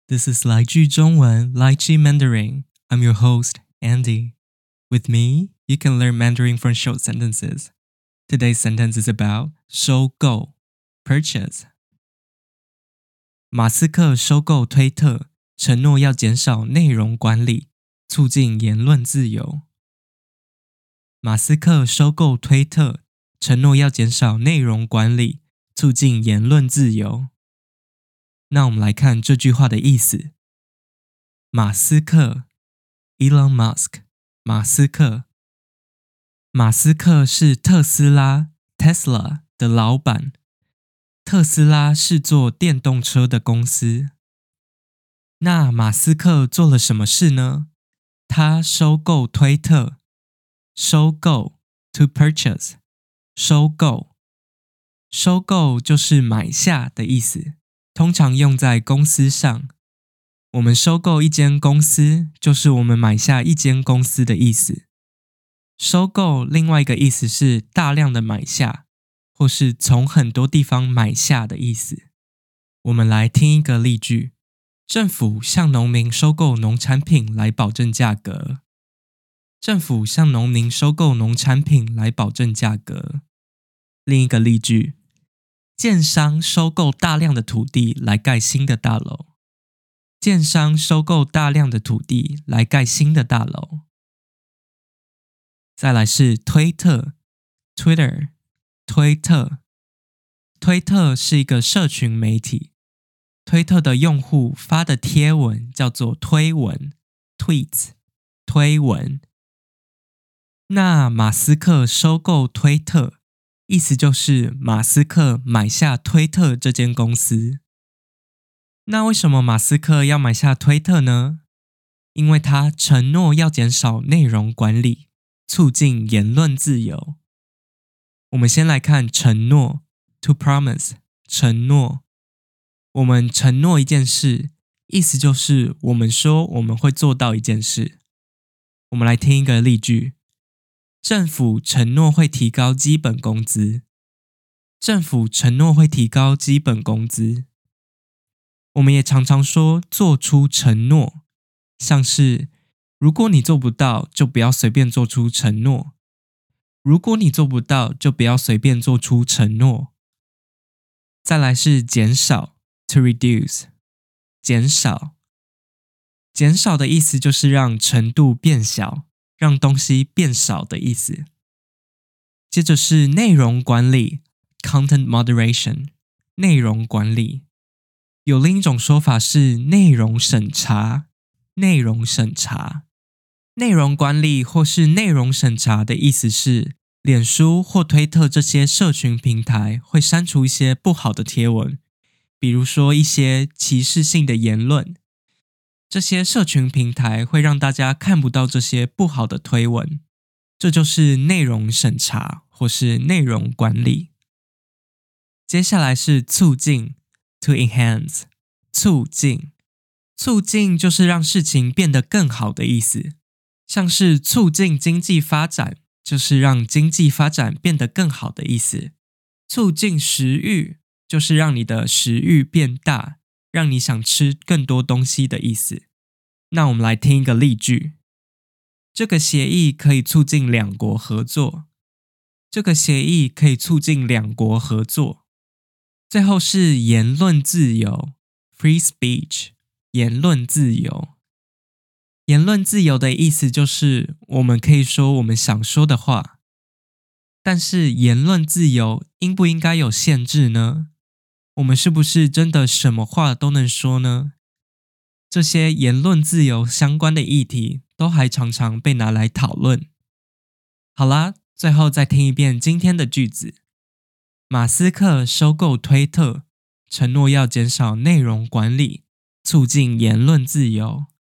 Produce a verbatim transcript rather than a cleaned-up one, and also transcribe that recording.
This is 来句中文 Lychee Mandarin. I'm your host, Andy. With me, you can learn Mandarin from short sentences. Today's sentence is about 收购 purchase. 马斯克收购推特，承诺要减少内容管理，促进言论自由。马斯克收购推特，承诺要减少内容管理，促进言论自由。那我们来看这句话的意思。马斯克 Elon Musk 马斯克马斯克是特斯拉 Tesla 的老板。特斯拉是做电动车的公司。那马斯克做了什么事呢？他收购推特。收购 to purchase 收购收购就是买下的意思，通常用在公司上。我们收购一间公司，就是我们买下一间公司的意思。收购另外一个意思是大量的买下，或是从很多地方买下的意思。我们来听一个例句：政府向农民收购农产品来保证价格。政府向农民收购农产品来保证价格。另一个例句：建商收购大量的土地来盖新的大楼。建商收购大量的土地来盖新的大楼。再来是推特 Twitter 推特推特是一个社群媒体。推特的用户发的贴文叫做推文 Tweets 推文。那马斯克收购推特，意思就是马斯克买下推特这间公司。那为什么马斯克要买下推特呢？因为他承诺要减少内容管理，促进言论自由。我们先来看承诺 to promise 承诺。我们承诺一件事，意思就是我们说我们会做到一件事。我们来听一个例句：政府承诺会提高基本工资。政府承诺会提高基本工资。我们也常常说做出承诺，像是如果你做不到，就不要随便做出承诺。如果你做不到，就不要随便做出承诺。再来是减少 to reduce 减少减少的意思就是让程度变小，让东西变少的意思。接着是内容管理 content moderation 内容管理。有另一种说法是内容审查内容审查。内容管理或是内容审查的意思是，脸书或推特这些社群平台会删除一些不好的贴文，比如说一些歧视性的言论。这些社群平台会让大家看不到这些不好的推文，这就是内容审查或是内容管理。接下来是促进 to enhance 促进促进就是让事情变得更好的意思，像是促进经济发展，就是让经济发展变得更好的意思。促进食欲就是让你的食欲变大，让你想吃更多东西的意思。那我们来听一个例句：这个协议可以促进两国合作。这个协议可以促进两国合作。最后是言论自由 free speech 言论自由。言论自由的意思就是我们可以说我们想说的话。但是言论自由应不应该有限制呢？我们是不是真的什么话都能说呢？这些言论自由相关的议题都还常常被拿来讨论。好啦，最后再听一遍今天的句子。马斯克收购推特，承诺要减少内容管理，促进言论自由。